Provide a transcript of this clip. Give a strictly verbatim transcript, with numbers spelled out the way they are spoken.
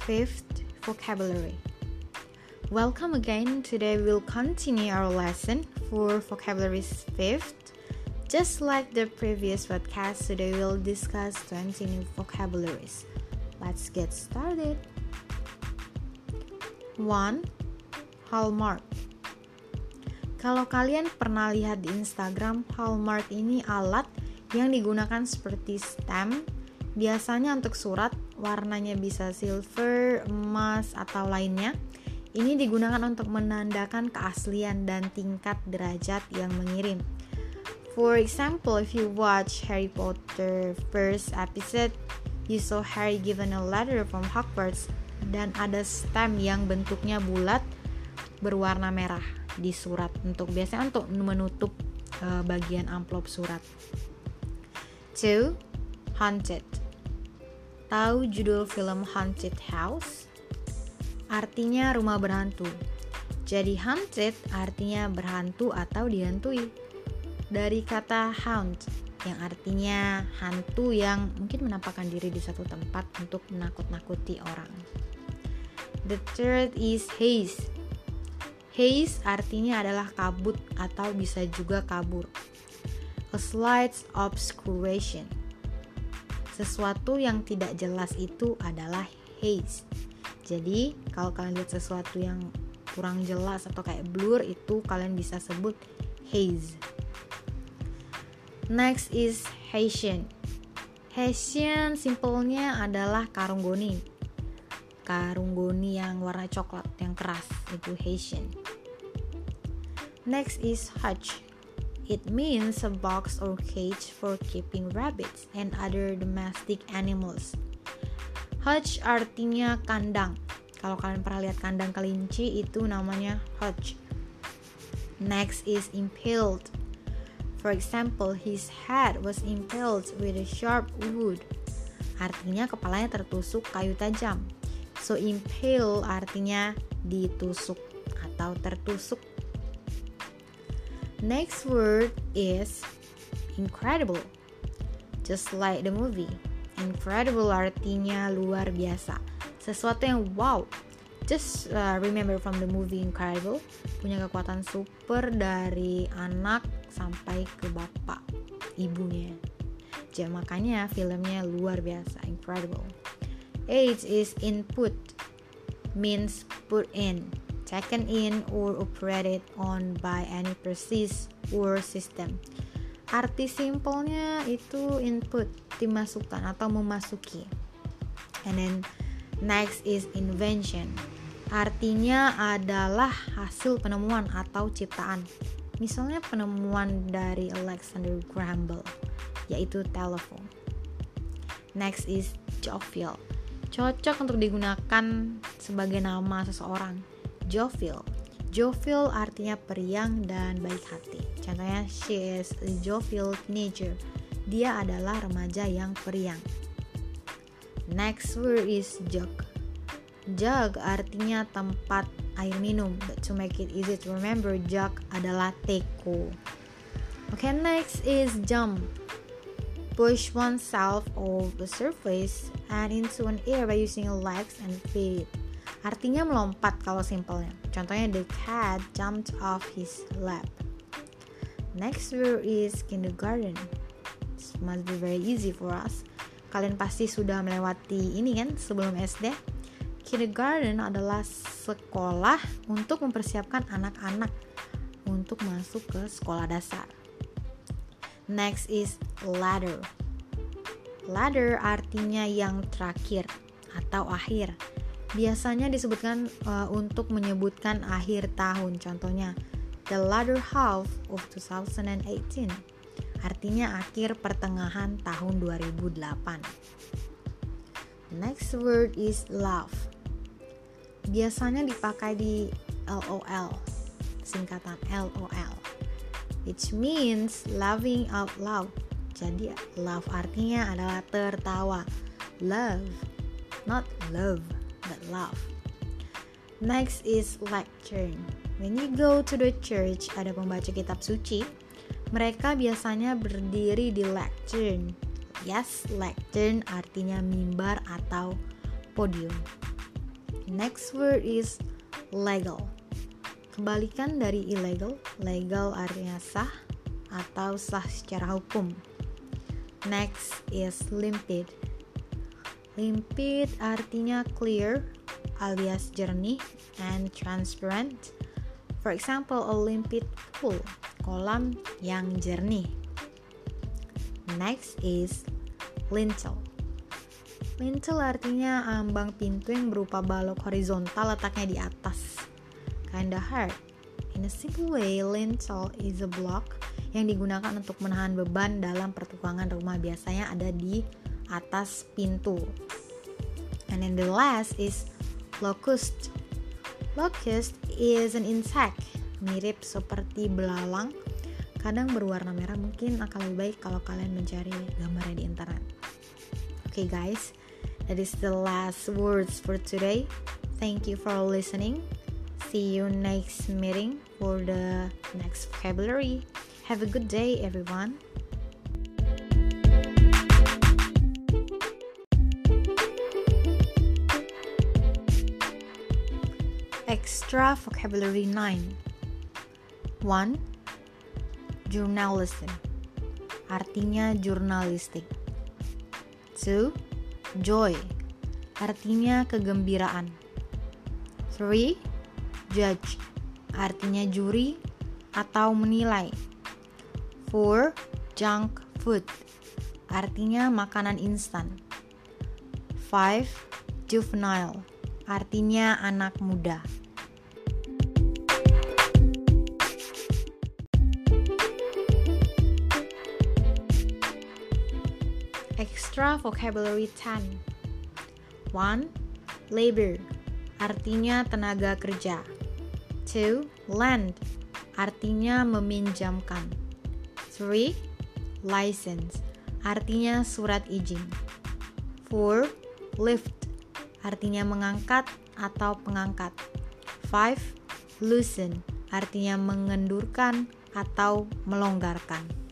Fifth vocabulary. Welcome again. Today we'll continue our lesson for vocabularies fifth. Just like the previous podcast, today we'll discuss twenty new vocabularies. Let's get started. one. Hallmark. Kalau kalian pernah lihat di Instagram, Hallmark ini alat yang digunakan seperti stamp, biasanya untuk surat, warnanya bisa silver, emas, atau lainnya. Ini digunakan untuk menandakan keaslian dan tingkat derajat yang mengirim. For example, if you watch Harry Potter first episode, you saw Harry given a letter from Hogwarts dan ada stamp yang bentuknya bulat berwarna merah di surat, untuk biasanya untuk menutup uh, bagian amplop surat. two. Haunted. Tahu judul film Haunted House? Artinya rumah berhantu. Jadi haunted artinya berhantu atau dihantui. Dari kata haunt yang artinya hantu yang mungkin menampakkan diri di satu tempat untuk menakut-nakuti orang. The third is haze. Haze artinya adalah kabut atau bisa juga kabur. A slight obscuration. Sesuatu yang tidak jelas itu adalah haze. Jadi kalau kalian lihat sesuatu yang kurang jelas atau kayak blur, itu kalian bisa sebut haze. Next is Hessian. Hessian simpelnya adalah karung goni. Karung goni yang warna coklat yang keras, itu Hessian. Next is hutch. It means a box or cage for keeping rabbits and other domestic animals. Hutch artinya kandang. Kalau kalian pernah lihat kandang kelinci, itu namanya hutch. Next is impaled. For example, his head was impaled with a sharp wood. Artinya kepalanya tertusuk kayu tajam. So impale artinya ditusuk atau tertusuk. Next word is incredible. Just like the movie, incredible artinya luar biasa, sesuatu yang wow. Just uh, remember from the movie Incredible, punya kekuatan super dari anak sampai ke bapak ibunya. Jadi makanya filmnya luar biasa, incredible. Eight is input, means put in, taken in or operated on by any process or system. Arti simpelnya itu input, dimasukkan atau memasuki. And then next is invention. Artinya adalah hasil penemuan atau ciptaan. Misalnya penemuan dari Alexander Graham Bell, yaitu telepon. Next is jovial. Cocok untuk digunakan sebagai nama seseorang. Jovial. Jovial artinya periang dan baik hati. Contohnya, she is a jovial teenager. Dia adalah remaja yang periang. Next word is jug. Jug artinya tempat air minum. But to make it easy to remember, jug adalah teko. Okay, next is jump. Push oneself off the surface and into an air by using legs and feet. Artinya melompat kalau simpelnya. Contohnya, the cat jumped off his lap. Next word is kindergarten. This must be very easy for us. Kalian pasti sudah melewati ini kan sebelum S D. Kindergarten adalah sekolah untuk mempersiapkan anak-anak untuk masuk ke sekolah dasar. Next is ladder. Ladder artinya yang terakhir atau akhir. Biasanya disebutkan uh, untuk menyebutkan akhir tahun. Contohnya, the latter half of twenty eighteen. Artinya akhir pertengahan tahun dua ribu delapan. Next word is love. Biasanya dipakai di L O L, singkatan L O L, which means laughing out loud. Jadi love artinya adalah tertawa. Love, not love, but love. Next is lectern. When you go to the church, ada pembaca kitab suci, mereka biasanya berdiri di lectern. Yes, lectern artinya mimbar atau podium. Next word is legal. Kebalikan dari illegal, legal artinya sah atau sah secara hukum. Next is limpid. Limpid artinya clear alias jernih and transparent. For example, a limpid pool, kolam yang jernih. Next is lintel. Lintel artinya ambang pintu yang berupa balok horizontal letaknya di atas. Kinda hard. In a simple way, lintel is a block yang digunakan untuk menahan beban dalam pertukangan rumah, biasanya ada di atas pintu. And then the last is locust. Locust is an insect, mirip seperti belalang, kadang berwarna merah. Mungkin akan lebih baik kalau kalian mencari gambarnya di internet. Okay guys, that is the last words for today. Thank you for listening. See you next meeting for the next vocabulary. Have a good day, everyone. Extra vocabulary nine. one. Journalism. Artinya jurnalistik. two. Joy. Artinya kegembiraan. three. Judge, artinya juri atau menilai. four. Junk food, artinya makanan instan. five. Juvenile, artinya anak muda. Extra vocabulary ten. one. Labor, artinya tenaga kerja. two. Lend, artinya meminjamkan. three. License, artinya surat izin. four. Lift, artinya mengangkat atau pengangkat. five. Loosen, artinya mengendurkan atau melonggarkan.